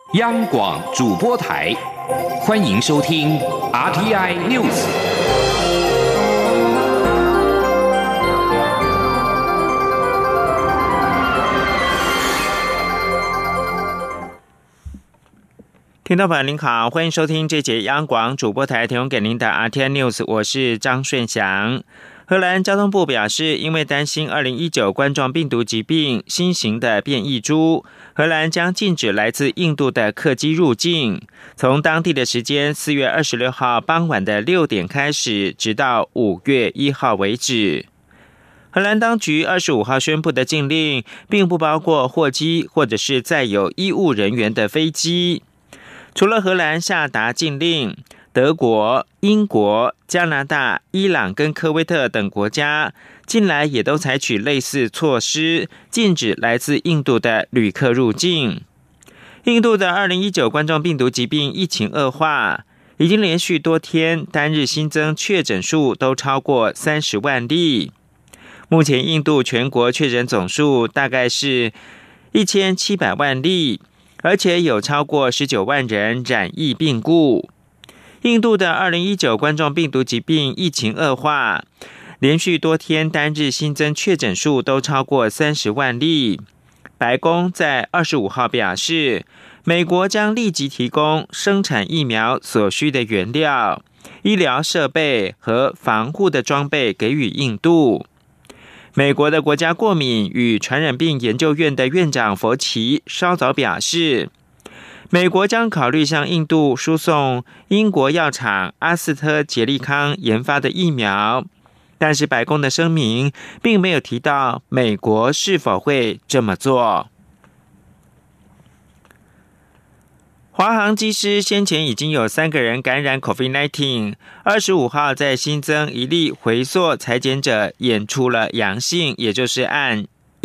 央广主播台，欢迎收听 RTI News。 听众朋友您好，欢迎收听这节央广主播台提供给您的 RTI News， 我是张顺祥。荷兰交通部表示，因为担心2019冠状病毒疾病新型的变异株，荷兰将禁止来自印度的客机入境，从当地的时间4月26号傍晚的6点开始，直到5月1号为止。荷兰当局25号宣布的禁令，并不包括货机或者是载有医务人员的飞机。除了荷兰下达禁令，德国、英国、加拿大、伊朗跟科威特等国家近来也都采取类似措施，禁止来自印度的旅客入境。印度的2019冠状病毒疾病疫情恶化，已经连续多天单日新增确诊数都超过30万例。目前印度全国确诊总数大概是1700万例，而且有超过19万人染疫病故。印度的2019冠状病毒疾病疫情恶化，连续多天单日新增确诊数都超过30万例。白宫在25号表示，美国将立即提供生产疫苗所需的原料、医疗设备和防护的装备给予印度。美国的国家过敏与传染病研究院的院长佛奇稍早表示，美国将考虑向印度输送英国药厂阿斯特捷利康研发的疫苗，但是白宫的声明并没有提到美国是否会这么做。华航机师先前已经有3个人感染 COVID-19， 25号在新增一例回溯采检者验出了阳性，也就是按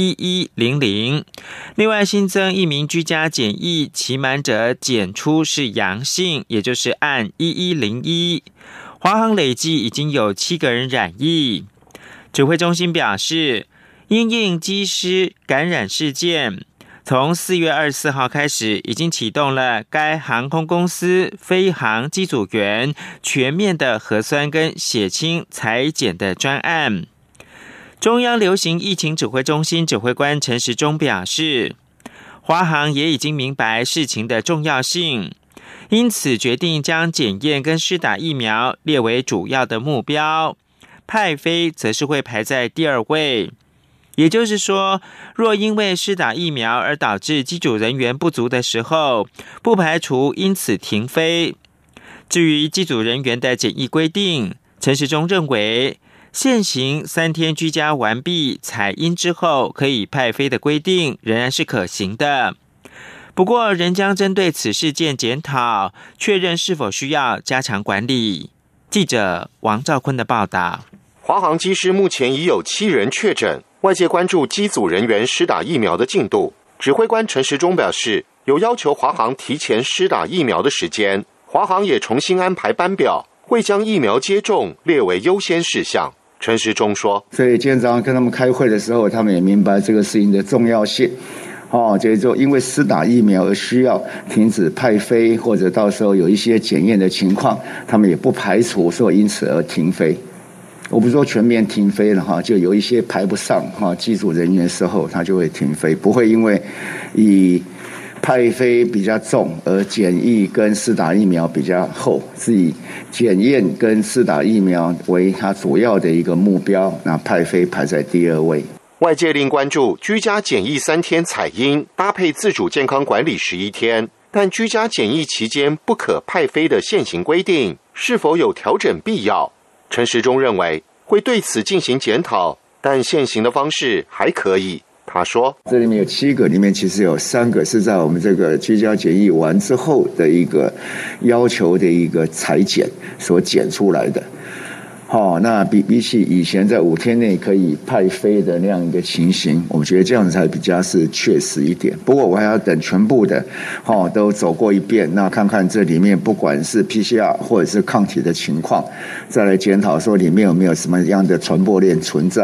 1100，另外新增一名居家检疫期满者检出是阳性，也就是按1101。华航累计已经有7个人染疫。指挥中心表示，因应机师感染事件，从4月24号开始，已经启动了该航空公司飞航机组员全面的核酸跟血清采检的专案。中央流行疫情指挥中心指挥官陈时中表示，华航也已经明白事情的重要性，因此决定将检验跟施打疫苗列为主要的目标，派飞则是会排在第2位。也就是说，若因为施打疫苗而导致机组人员不足的时候，不排除因此停飞。至于机组人员的检疫规定，陈时中认为现行3天居家完毕采阴之后可以派飞的规定仍然是可行的，不过仍将针对此事件检讨，确认是否需要加强管理。记者王兆坤的报道。 华航机师目前已有7人确诊，外界关注机组人员施打疫苗的进度。指挥官陈时中表示，有要求华航提前施打疫苗的时间，华航也重新安排班表，会将疫苗接种列为优先事项。陈时中说， 所以今天早上跟他们开会的时候，他们也明白这个事情的重要性。就是说因为施打疫苗而需要停止派飞，或者到时候有一些检验的情况，他们也不排除说因此而停飞。我不是说全面停飞了就有一些排不上机组人员的时候，他就会停飞，不会因为以派飞比较重而检疫跟施打疫苗比较厚，是以检验跟施打疫苗为它主要的一个目标，那派飞排在第2位。 外界另关注居家检疫3天采阴搭配自主健康管理11天，但居家检疫期间不可派飞的现行规定是否有调整必要？陈时中认为会对此进行检讨，但现行的方式还可以。他说， 这里面有7个，里面其实有3个是在我们这个居家检疫完之后的一个要求的一个采检所检出来的。那比起以前在5天内可以派飞的那样一个情形，我觉得这样才比较是确实一点。不过我还要等全部的都走过一遍，那看看这里面不管是 PCR 或者是抗体的情况，再来检讨说里面有没有什么样的传播链存在。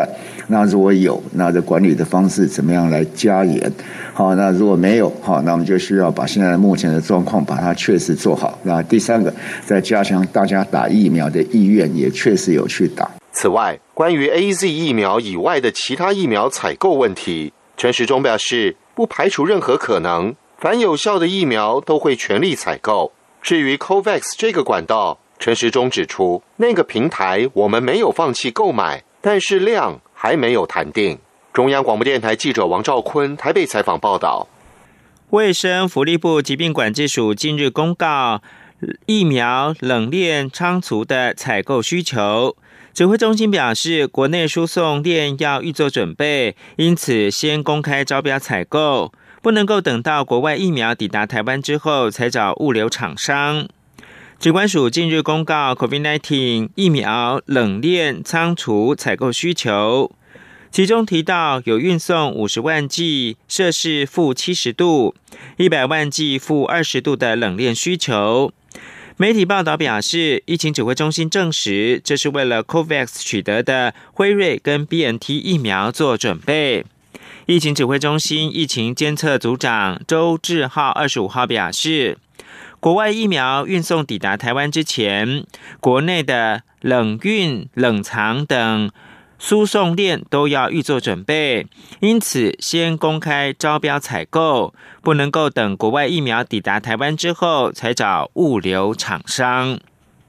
那如果有，那这管理的方式怎么样来加严？好，那如果没有，好，那我们就需要把现在目前的状况把它确实做好。那第三个，再加强大家打疫苗的意愿，也确实有去打。 此外，关于 AZ 疫苗以外的其他疫苗采购问题，陈时中表示，不排除任何可能，凡有效的疫苗都会全力采购。至于 COVAX 这个管道，陈时中指出，那个平台我们没有放弃购买，但是量还没有谈定。中央广播电台记者王兆坤台北采访报道。 卫生福利部疾病管制署近日公告疫苗冷链仓储的采购需求。指挥中心表示，国内输送链要预做准备，因此先公开招标采购，不能够等到国外疫苗抵达台湾之后才找物流厂商。疾管署近日公告 COVID-19 疫苗冷链仓储采购需求，其中提到有运送50万剂摄氏负70度、100万剂负20度的冷链需求。媒体报道表示，疫情指挥中心证实，这是为了 COVAX 取得的辉瑞跟 BNT 疫苗做准备。疫情指挥中心疫情监测组长周志浩25号表示，国外疫苗运送抵达台湾之前，国内的冷运、冷藏等输送链都要预做准备，因此先公开招标采购，不能够等国外疫苗抵达台湾之后才找物流厂商。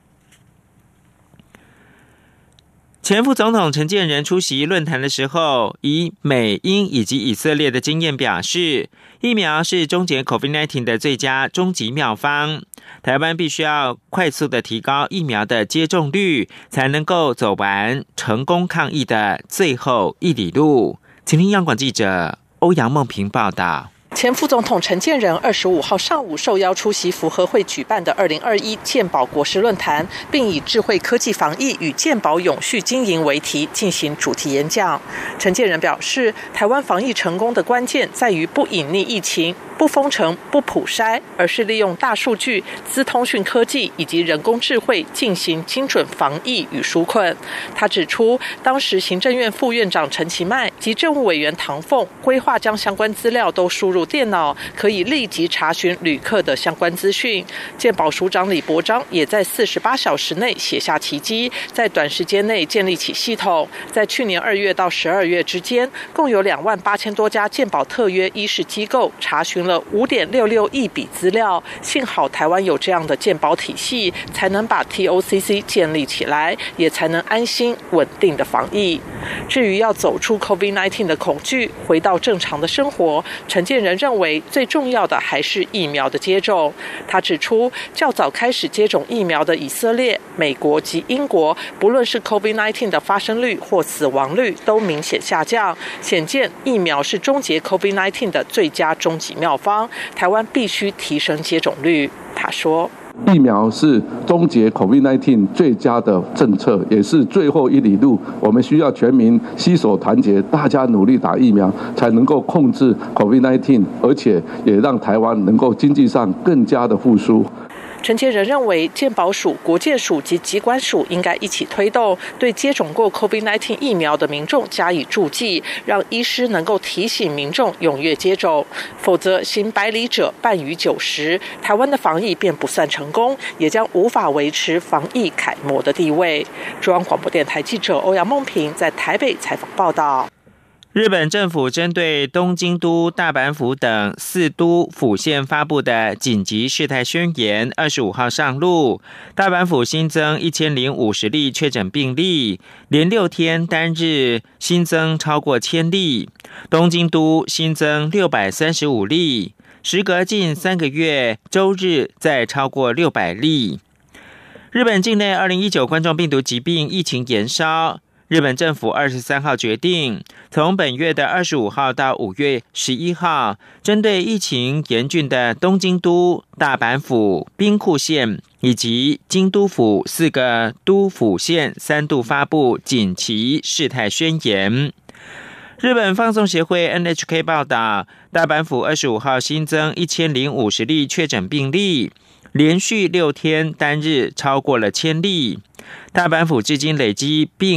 前副总统陈建仁出席论坛的时候，以美、英以及以色列的经验表示，疫苗是终结 COVID-19 的最佳终极妙方。台湾必须要快速的提高疫苗的接种率，才能够走完成功抗疫的最后一里路。请听央广记者欧阳梦平报道。 前副总统陈建仁25号上午受邀出席福和会举办的2021健保国事论坛，并以智慧科技防疫与健保永续经营为题进行主题演讲。陈建仁表示，台湾防疫成功的关键在于不隐匿疫情，不封城、不普筛，而是利用大数据、资通讯科技以及人工智慧进行精准防疫与纾困。他指出，当时行政院副院长陈其迈及政务委员唐凤规划将相关资料都输入电脑，可以立即查询旅客的相关资讯。健保署长李伯璋也在48小时内写下奇迹，在短时间内建立起系统。在去年2月到12月之间，共有28000多家健保特约医事机构查询了5.66亿笔资料。幸好台湾有这样的健保体系，才能把 TOCC 建立起来，也才能安心稳定的防疫。至于要走出 COVID-19 的恐惧，回到正常的生活，陈建仁认为最重要的还是疫苗的接种。他指出，较早开始接种疫苗的以色列、美国及英国，不论是 COVID-19 的发生率或死亡率都明显下降，显见疫苗是终结 COVID-19 的最佳终极妙方。台湾必须提升接种率。他说， 疫苗是终结 COVID-19 最佳的政策，也是最后一里路。我们需要全民携手团结，大家努力打疫苗，才能够控制 COVID-19， 而且也让台湾能够经济上更加的复苏。 陈建仁认为，健保署、国健署及疾管署应该一起推动，对接种过 COVID-19 疫苗的民众加以注记，让医师能够提醒民众踊跃接种，否则行百里者半于90，台湾的防疫便不算成功，也将无法维持防疫楷模的地位。中央广播电台记者欧阳梦平在台北采访报道。 日本政府针对东京都、大阪府等4都府县发布的紧急事态宣言25号上路。大阪府新增1050例确诊病例，连6天单日新增超过1000例。东京都新增635例，时隔近3个月，周日再超过600例。日本境内2019冠状病毒疾病疫情延烧。日本政府23号决定，从本月的25号到5月11号，针对疫情严峻的东京都、大阪府、兵库县以及京都府4个都府县3度发布紧急事态宣言。日本放送协会 NHK 报道，大阪府25号新增1050例确诊病例，连续6天单日超过了1000例。大阪府至今累积病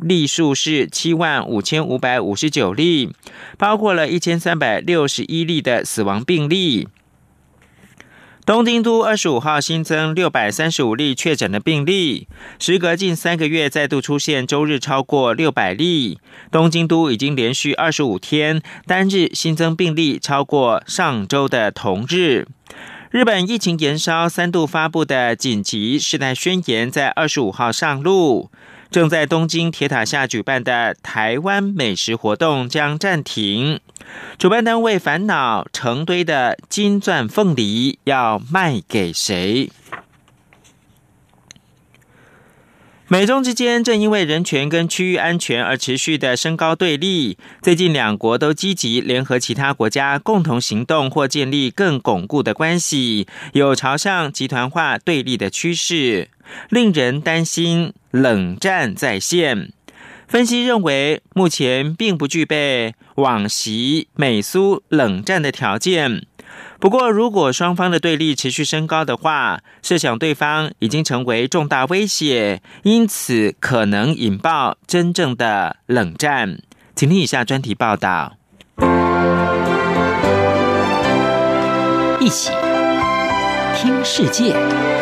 例数是75559例，包括了1361例的死亡病例。东京都25号新增635例确诊的病例，时隔近3个月再度出现周日超过600例。东京都已经连续25天单日新增病例超过上周的同日。日本疫情延烧3度发布的紧急事态宣言在25号上路。正在东京铁塔下举办的台湾美食活动将暂停，主办单位烦恼成堆的金钻凤梨要卖给谁？美中之间正因为人权跟区域安全而持续的升高对立，最近两国都积极联合其他国家共同行动或建立更巩固的关系，有朝向集团化对立的趋势，令人担心冷战再现。分析认为，目前并不具备往昔美苏冷战的条件。不过，如果双方的对立持续升高的话，设想对方已经成为重大威胁，因此可能引爆真正的冷战。请听以下专题报道。 一起听世界，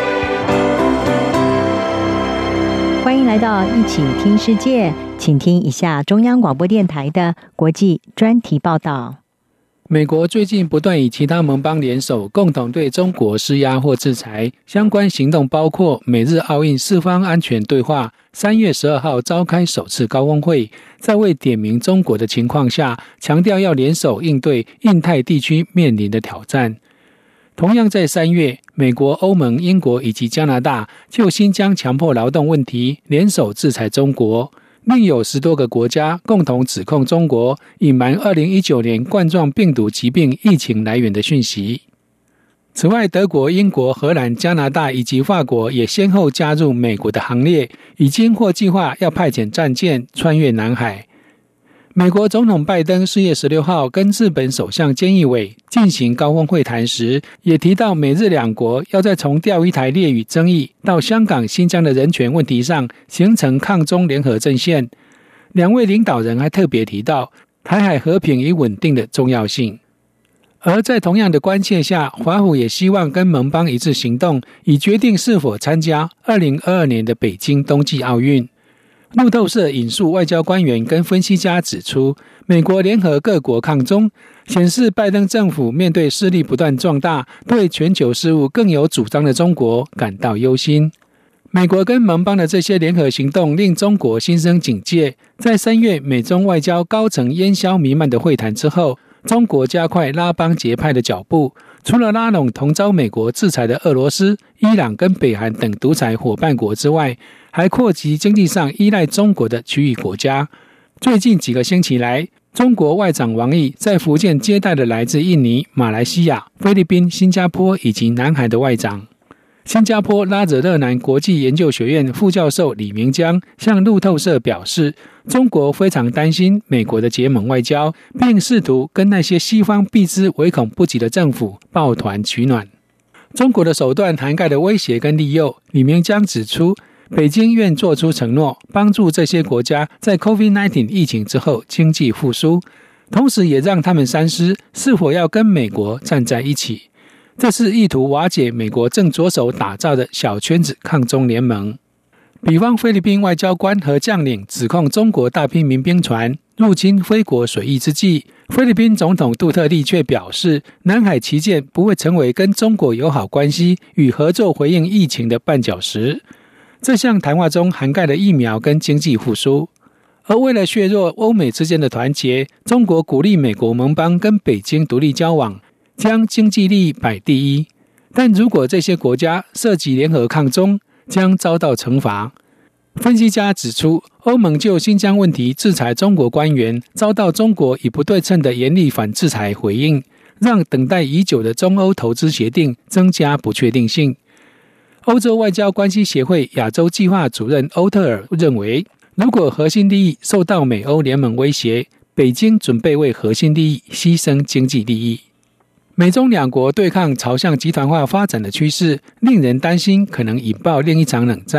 欢迎来到一起听世界，请听一下中央广播电台的国际专题报道。 美国最近不断与其他盟邦联手，共同对中国施压或制裁。相关行动包括美日奥运四方安全对话，3月12号召开首次高峰会，在未点名中国的情况下，强调要联手应对印太地区面临的挑战。同样在3月，美国、欧盟、英国以及加拿大就新疆强迫劳动问题联手制裁中国。另有10多个国家共同指控中国隐瞒2019年冠状病毒疾病疫情来源的讯息。此外，德国、英国、荷兰、加拿大以及法国也先后加入美国的行列，已经或计划要派遣战舰穿越南海。美国总统拜登4月16号跟日本首相菅义伟进行高峰会谈时，也提到美日两国要在从钓鱼台列屿争议到香港、新疆的人权问题上形成抗中联合阵线。两位领导人还特别提到台海和平与稳定的重要性。而在同样的关切下，华府也希望跟盟邦一致行动，以决定是否参加2022年的北京冬季奥运。路透社引述外交官员跟分析家指出，美国联合各国抗中，显示拜登政府面对势力不断壮大、对全球事务更有主张的中国感到忧心。美国跟盟邦的这些联合行动令中国心生警戒。在3月美中外交高层烟硝弥漫的会谈之后，中国加快拉帮结派的脚步，除了拉拢同遭美国制裁的俄罗斯、伊朗跟北韩等独裁伙伴国之外，还扩及经济上依赖中国的区域国家。最近几个星期来，中国外长王毅在福建接待了来自印尼、马来西亚、菲律宾、新加坡以及南韩的外长。新加坡拉惹勒南国际研究学院副教授李明江向路透社表示，中国非常担心美国的结盟外交，并试图跟那些西方避之唯恐不及的政府抱团取暖。中国的手段涵盖了威胁跟利诱。李明江指出，北京愿做出承诺，帮助这些国家在 COVID-19 疫情之后经济复苏，同时也让他们三思是否要跟美国站在一起。这是意图瓦解美国正着手打造的小圈子抗中联盟。比方菲律宾外交官和将领指控中国大批民兵船入侵菲国水域之际，菲律宾总统杜特利却表示，南海旗舰不会成为跟中国友好关系与合作回应疫情的绊脚石。这项谈话中涵盖了疫苗跟经济复苏。而为了削弱欧美之间的团结，中国鼓励美国盟邦跟北京独立交往，将经济利益摆第一。但如果这些国家涉及联合抗中，将遭到惩罚。分析家指出，欧盟就新疆问题制裁中国官员，遭到中国以不对称的严厉反制裁回应，让等待已久的中欧投资协定增加不确定性。欧洲外交关系协会亚洲计划主任欧特尔认为，如果核心利益受到美欧联盟威胁，北京准备为核心利益牺牲经济利益。美中两国对抗朝向集团化发展的趋势，令人担心可能引爆另一场冷战。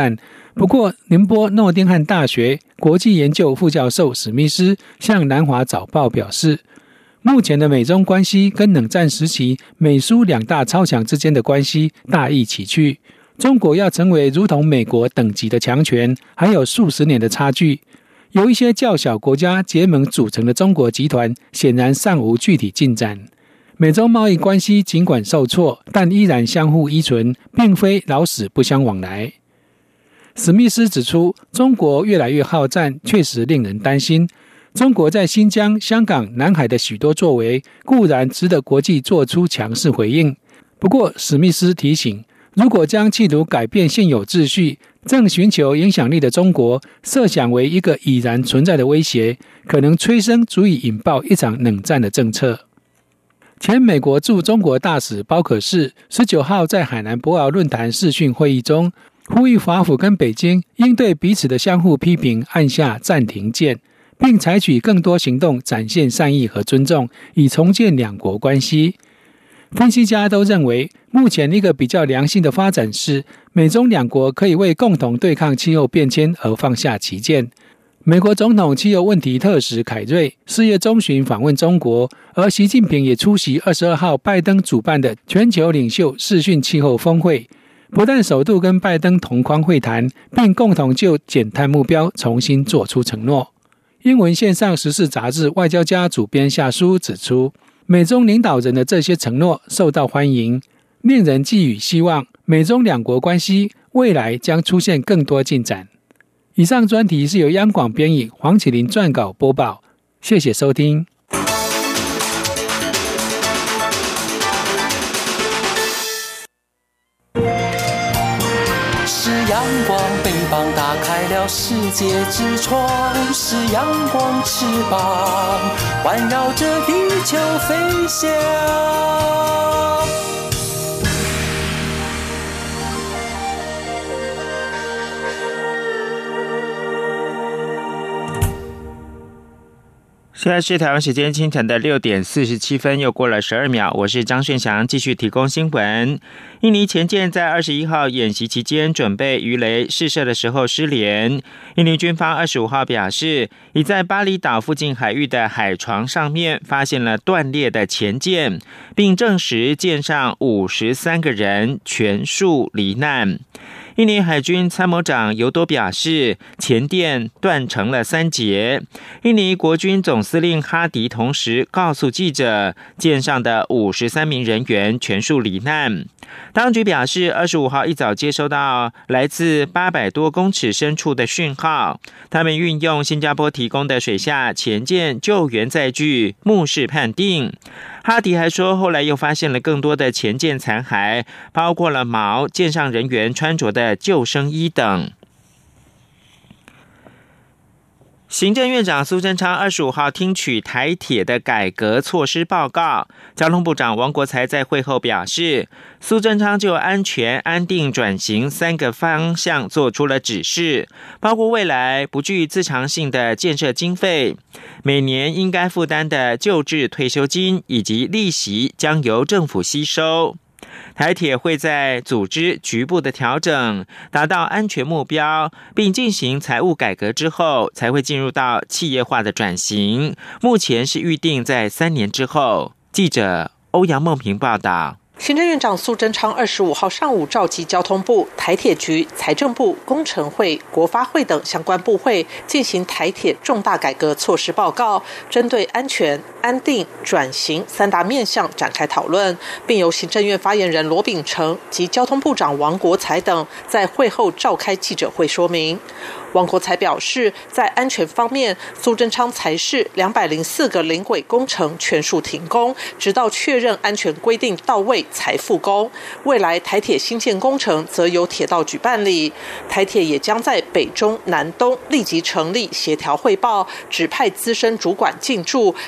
不过，宁波诺丁汉大学国际研究副教授史密斯向南华早报表示，目前的美中关系跟冷战时期美苏两大超强之间的关系大异其趣，中国要成为如同美国等级的强权，还有数十年的差距。由一些较小国家结盟组成的中国集团，显然尚无具体进展。美中贸易关系尽管受挫，但依然相互依存，并非老死不相往来。史密斯指出，中国越来越好战，确实令人担心。中国在新疆、香港、南海的许多作为，固然值得国际做出强势回应。不过，史密斯提醒，如果将企图改变现有秩序、正寻求影响力的中国设想为一个已然存在的威胁，可能催生足以引爆一场冷战的政策。前美国驻中国大使包可士19号在海南博鳌论坛视讯会议中，呼吁华府跟北京应对彼此的相互批评按下暂停键，并采取更多行动展现善意和尊重，以重建两国关系。分析家都认为，目前一个比较良性的发展是，美中两国可以为共同对抗气候变迁而放下歧见。美国总统气候问题特使凯瑞4月中旬访问中国，而习近平也出席22号拜登主办的全球领袖视讯气候峰会，不但首度跟拜登同框会谈，并共同就减碳目标重新做出承诺。英文线上时事杂志《外交家》主编夏书指出，美中领导人的这些承诺受到欢迎，令人寄予希望，美中两国关系未来将出现更多进展。以上专题是由央广编译黄启麟撰稿播报，谢谢收听。 是阳光，翅膀打开了世界之窗，是阳光翅膀环绕着地球飞翔。 现在是台湾时间清晨的6点47分，又过了12秒。我是张顺祥，继续提供新闻。印尼前舰在21号演习期间准备鱼雷试射的时候失联。印尼军方25号表示，已在巴厘岛附近海域的海床上面发现了断裂的前舰，并证实舰上53个人全数罹难。印尼海军参谋长尤多表示，前舰断成了3节。印尼国军总司令哈迪同时告诉记者，舰上的53名人员全数罹难。当局表示，25号一早接收到来自800多公尺深处的讯号，他们运用新加坡提供的水下前舰救援载具目视判定。哈迪还说，后来又发现了更多的前舰残骸，包括了锚、舰上人员穿着的救生衣等。行政院长苏贞昌25号听取台铁的改革措施报告，交通部长王国材在会后表示，苏贞昌就安全、安定、转型3个方向做出了指示，包括未来不具自偿性的建设经费，每年应该负担的旧制退休金以及利息将由政府吸收。台铁会在组织局部的调整，达到安全目标，并进行财务改革之后，才会进入到企业化的转型。目前是预定在3年之后。记者欧阳梦平报道。 行政院长苏贞昌25号上午召集交通部、台铁局、财政部、工程会、国发会等相关部会，进行台铁重大改革措施报告，针对安全、安定、转型3大面向展开讨论，并由行政院发言人罗秉成及交通部长王国材等在会后召开记者会说明。王国材表示，在安全方面，苏贞昌才是204个临轨工程全数停工，直到确认安全规定到位才复工。未来台铁新建工程则由铁道局办理，台铁也将在北中南东立即成立协调汇报，指派资深主管进驻，整合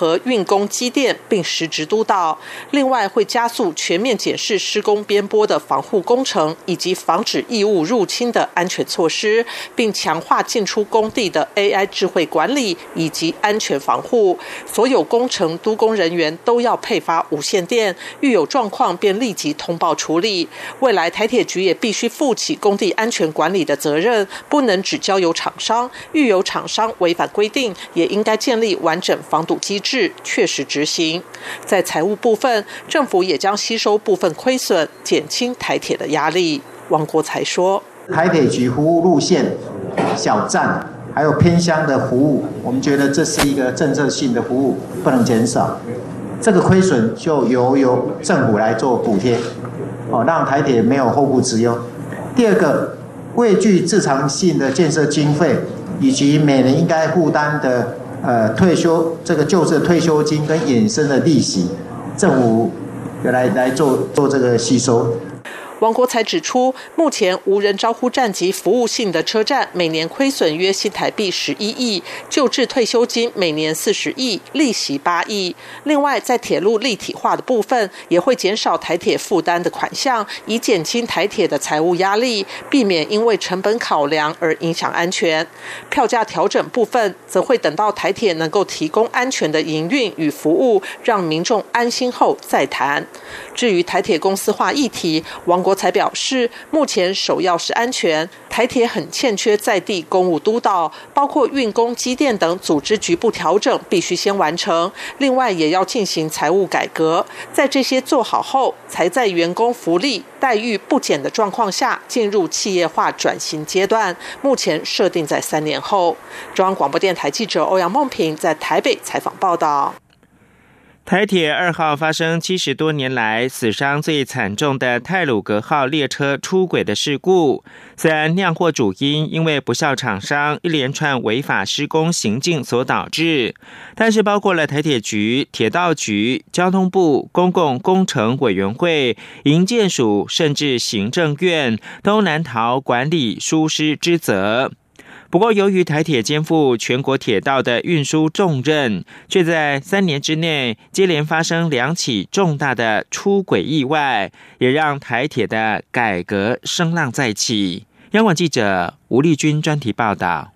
核运工机电，并实质督导。另外，会加速全面检视施工边坡的防护工程以及防止异物入侵的安全措施，并强化进出工地的 AI 智慧管理以及安全防护。所有工程督工人员都要配发无线电，遇有状况便立即通报处理。未来台铁局也必须负起工地安全管理的责任，不能只交由厂商，遇有厂商违反规定，也应该建立完整防堵机制，确实执行。在财务部分，政府也将吸收部分亏损，减轻台铁的压力。王国才说， 台铁局服务路线、小站还有偏乡的服务，我们觉得这是一个政策性的服务，不能减少。这个亏损就由政府来做补贴，让台铁没有后顾之忧。第二个，未具自偿性的建设经费，以及每年应该负担的旧制退休金跟衍生的利息，政府来做这个吸收。 王国才指出，目前无人招呼站及服务性的车站每年亏损约新台币11亿，旧制退休金每年40亿，利息8亿。另外，在铁路立体化的部分，也会减少台铁负担的款项，以减轻台铁的财务压力，避免因为成本考量而影响安全。票价调整部分，则会等到台铁能够提供安全的营运与服务，让民众安心后再谈。至于台铁公司化议题，王国才表示，目前首要是安全，台铁很欠缺在地公务督导，包括运工、机电等组织局部调整必须先完成。另外，也要进行财务改革，在这些做好后，才在员工福利待遇不减的状况下，进入企业化转型阶段。目前设定在3年后。中央广播电台记者欧阳梦平在台北采访报道。 台铁2号发生70多年来死伤最惨重的太鲁阁号列车出轨的事故，虽然酿祸主因因为不肖厂商一连串违法施工行径所导致，但是包括了台铁局、铁道局、交通部、公共工程委员会、营建署，甚至行政院都难逃管理疏失之责。不过，由于台铁肩负全国铁道的运输重任，却在3年之内接连发生2起重大的出轨意外，也让台铁的改革声浪再起。央广记者吴丽君专题报道。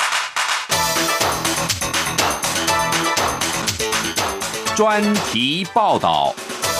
专题报道。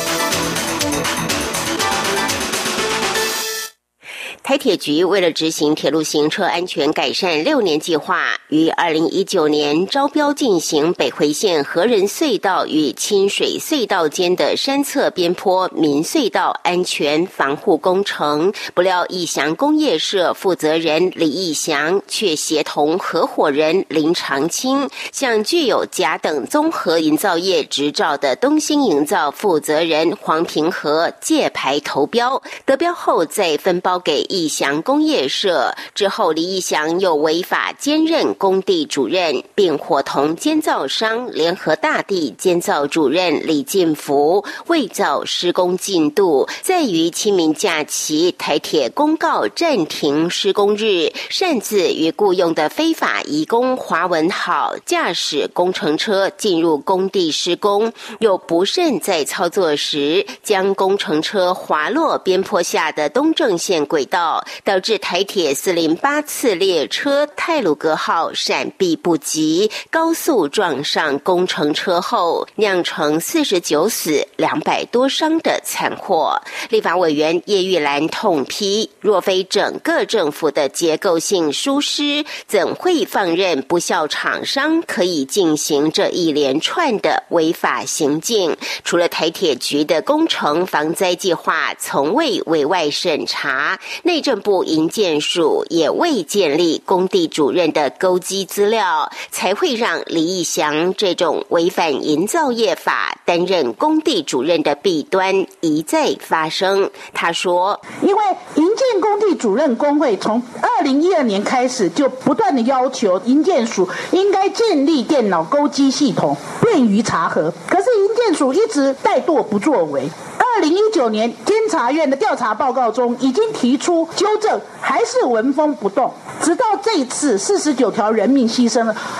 台铁局为了执行铁路行车安全改善6年计划，于2019年招标进行北回线和仁隧道与清水隧道间的山侧边坡民隧道安全防护工程。不料义祥工业社负责人李义祥却协同合伙人林长青，向具有甲等综合营造业执照的东兴营造负责人黄平和借牌投标，得标后再分包给义祥工业社。之后李义祥又违法兼任工地主任，并伙同监造商联合大地监造主任李进福伪造施工进度，在于清明假期台铁公告暂停施工日，擅自与雇用的非法移工华文好驾驶工程车进入工地施工，又不慎在操作时将工程车滑落边坡下的东正线轨道，导致台铁408次列车太鲁阁号闪避不及，高速撞上工程车后，酿成49死200多伤的惨祸。立法委员叶玉兰痛批，若非整个政府的结构性疏失，怎会放任不肖厂商可以进行这一连串的违法行径？除了台铁局的工程防灾计划从未委外审查，内政部营建署也未建立工地主任的勾稽资料，才会让李义祥这种违反营造业法担任工地主任的弊端一再发生。他说， 因为营建工地主任工会从2012年开始就不断的要求营建署应该建立电脑勾稽系统，便于查核，可是营建署一直怠惰不作为。2019年监察院的调查报告中已经提出纠正，还是纹风不动，直到这一次49条人命牺牲了，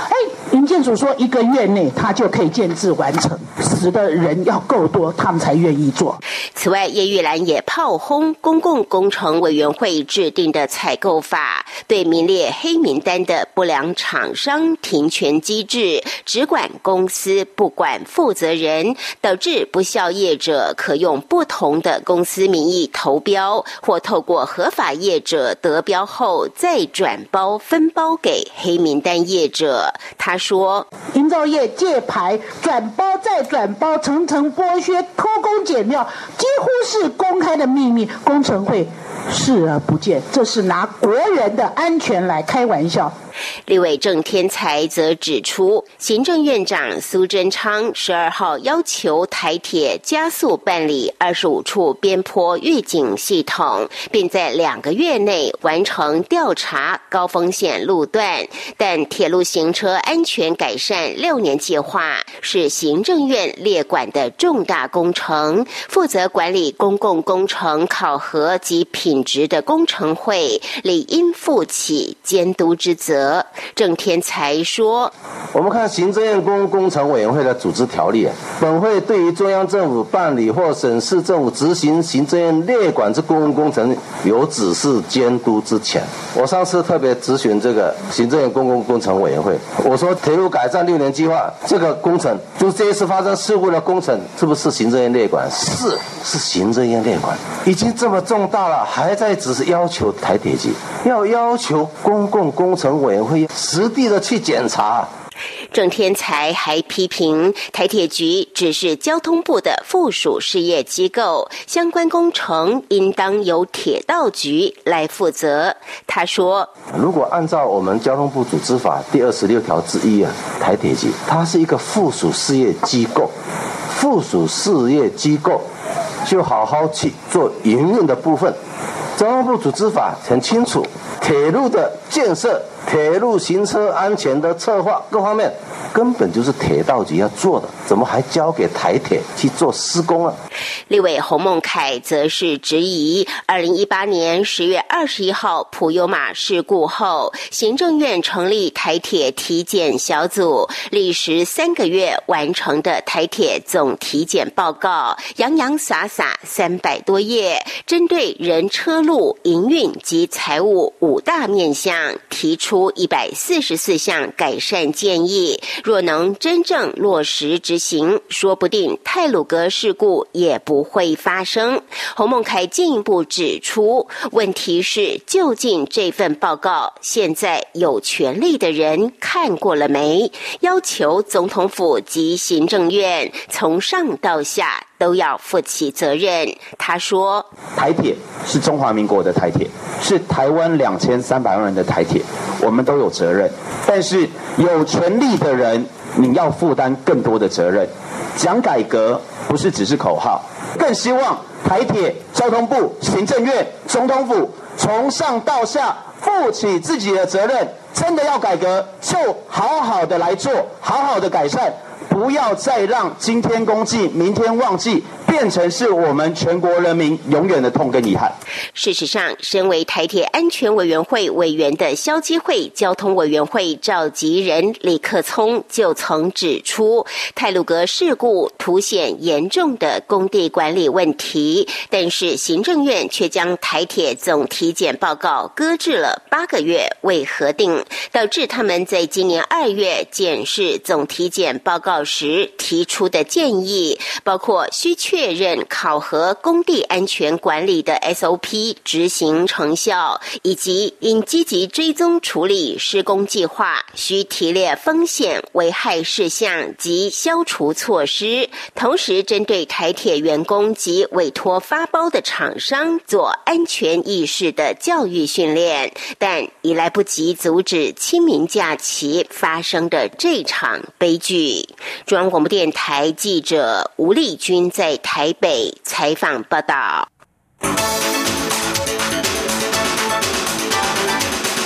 营建署说1个月内他就可以建制完成，死的人要够多，他们才愿意做。 此外，叶玉兰也炮轰公共工程委员会制定的采购法，对名列黑名单的不良厂商停权机制，只管公司不管负责人，导致不肖业者可用不同的公司名义投标，或透过合法业者得标后再转包分包给黑名单业者。他说， 营造业借牌转包再转包，层层剥削，偷工减料，几乎是公开的秘密，工程会视而不见，这是拿国人的安全来开玩笑。 立委郑天才则指出，行政院长苏贞昌12号要求台铁加速办理25处边坡预警系统，并在2个月内完成调查高风险路段，但铁路行车安全改善6年计划是行政院列管的重大工程，负责管理公共工程考核及品质的工程会理应负起监督之责。郑天才说， 我们看行政院公共工程委员会的组织条例，本会对于中央政府办理或省市政府执行行政院列管之公共工程有指示监督之权。我上次特别咨询这个行政院公共工程委员会，我说铁路改善6年计划这个工程，就是这一次发生事故的工程，是不是行政院列管？是行政院列管，已经这么重大了，还在只是要求台铁局要求公共工程委员会实地的去检查。 郑天才还批评台铁局只是交通部的附属事业机构，相关工程应当由铁道局来负责。他说， 如果按照我们交通部组织法第26条之一台铁局它是一个附属事业机构，附属事业机构就好好去做营运的部分。交通部组织法很清楚，铁路的建设、铁路行车安全的策划各方面根本就是铁道局要做的，怎么还交给台铁去做施工啊？ 立委洪孟凯则是质疑2018年10月21号普悠玛事故后，行政院成立台铁体检小组，历时3个月完成的台铁总体检报告洋洋洒洒300多页，针对人车路营运及财务5大面向提出144项改善建议，若能真正落实执行，说不定太鲁阁事故也不会发生。洪孟凯进一步指出，问题是究竟这份报告现在有权力的人看过了没？要求总统府及行政院从上到下都要负起责任。他说， 台铁是中华民国的台铁，是台湾2300万人的台铁，我们都有责任，但是有权力的人你要负担更多的责任。讲改革不是只是口号，更希望台铁、交通部、行政院、总统府从上到下负起自己的责任，真的要改革就好好的来做，好好的改善，不要再让今天公祭明天忘记变成是我们全国人民永远的痛跟遗憾。 事实上，身为台铁安全委员会委员的消基会交通委员会召集人李克聪就曾指出，太鲁阁事故凸显严重的工地管理问题，但是行政院却将台铁总体检报告搁置了8个月未核定，导致他们在今年2月检视总体检报告时提出的建议，包括需确认考核工地安全管理的 SOP 执行成效，以及应积极追踪处理施工计划，需提列风险危害事项及消除措施，同时针对台铁员工及委托发包的厂商做安全意识的教育训练，但已来不及阻止清明假期发生的这场悲剧。中央广播电台记者吴丽君在台北采访报道。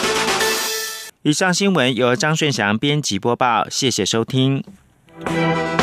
以上新闻由张顺祥编辑播报，谢谢收听。